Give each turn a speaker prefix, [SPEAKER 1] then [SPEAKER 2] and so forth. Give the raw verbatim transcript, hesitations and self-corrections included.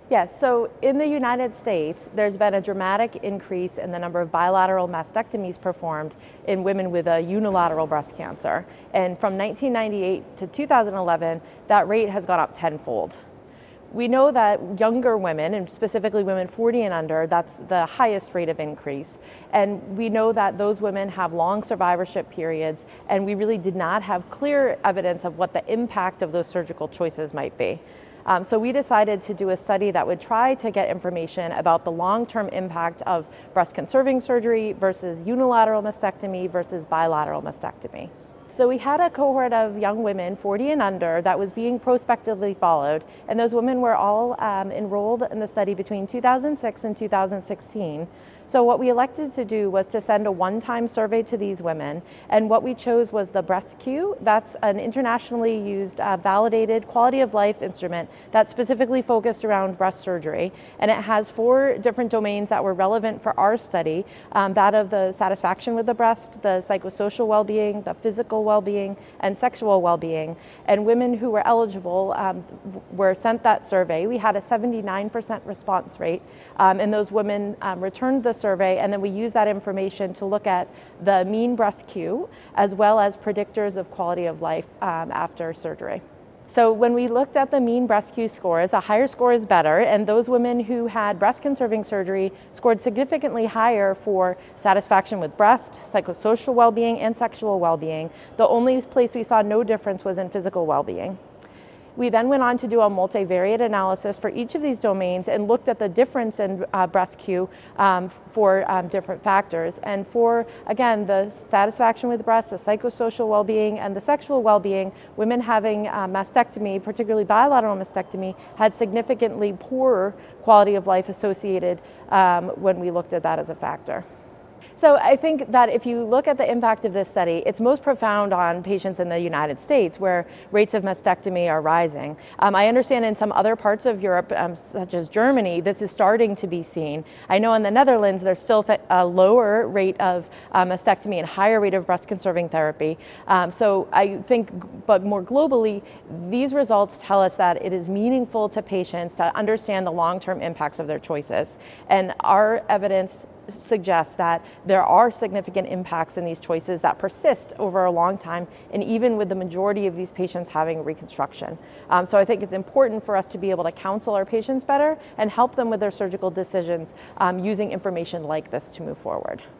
[SPEAKER 1] Yes, so in the United States, there's been a dramatic increase in the number of bilateral mastectomies performed in women with a unilateral breast cancer. And from nineteen ninety-eight to two thousand eleven, that rate has gone up tenfold. We know that younger women, and specifically women forty and under, that's the highest rate of increase. And we know that those women have long survivorship periods, and we really did not have clear evidence of what the impact of those surgical choices might be. Um, so we decided to do a study that would try to get information about the long-term impact of breast conserving surgery versus unilateral mastectomy versus bilateral mastectomy. So we had a cohort of young women, forty and under, that was being prospectively followed, and those women were all um, enrolled in the study between two thousand six and two thousand sixteen. So what we elected to do was to send a one-time survey to these women, and what we chose was the BreastQ. That's an internationally used, uh, validated quality of life instrument that's specifically focused around breast surgery, and it has four different domains that were relevant for our study, um, that of the satisfaction with the breast, the psychosocial well-being, the physical well-being, and sexual well-being. And women who were eligible um, were sent that survey. We had a seventy-nine percent response rate, um, and those women um, returned the survey, and then we use that information to look at the mean BreastQ as well as predictors of quality of life um, after surgery. So when we looked at the mean BreastQ scores, a higher score is better, and those women who had breast conserving surgery scored significantly higher for satisfaction with breast, psychosocial well-being, and sexual well-being. The only place we saw no difference was in physical well-being. We then went on to do a multivariate analysis for each of these domains and looked at the difference in uh, BreastQ um, for um, different factors. And for, again, the satisfaction with breast, the psychosocial well-being, and the sexual well-being, women having uh, mastectomy, particularly bilateral mastectomy, had significantly poorer quality of life associated um, when we looked at that as a factor. So I think that if you look at the impact of this study, it's most profound on patients in the United States where rates of mastectomy are rising. Um, I understand in some other parts of Europe, um, such as Germany, this is starting to be seen. I know in the Netherlands, there's still th- a lower rate of uh, mastectomy and higher rate of breast conserving therapy. Um, so I think, but more globally, these results tell us that it is meaningful to patients to understand the long-term impacts of their choices. And our evidence suggests that there are significant impacts in these choices that persist over a long time, and even with the majority of these patients having reconstruction. Um, so I think it's important for us to be able to counsel our patients better and help them with their surgical decisions um, using information like this to move forward.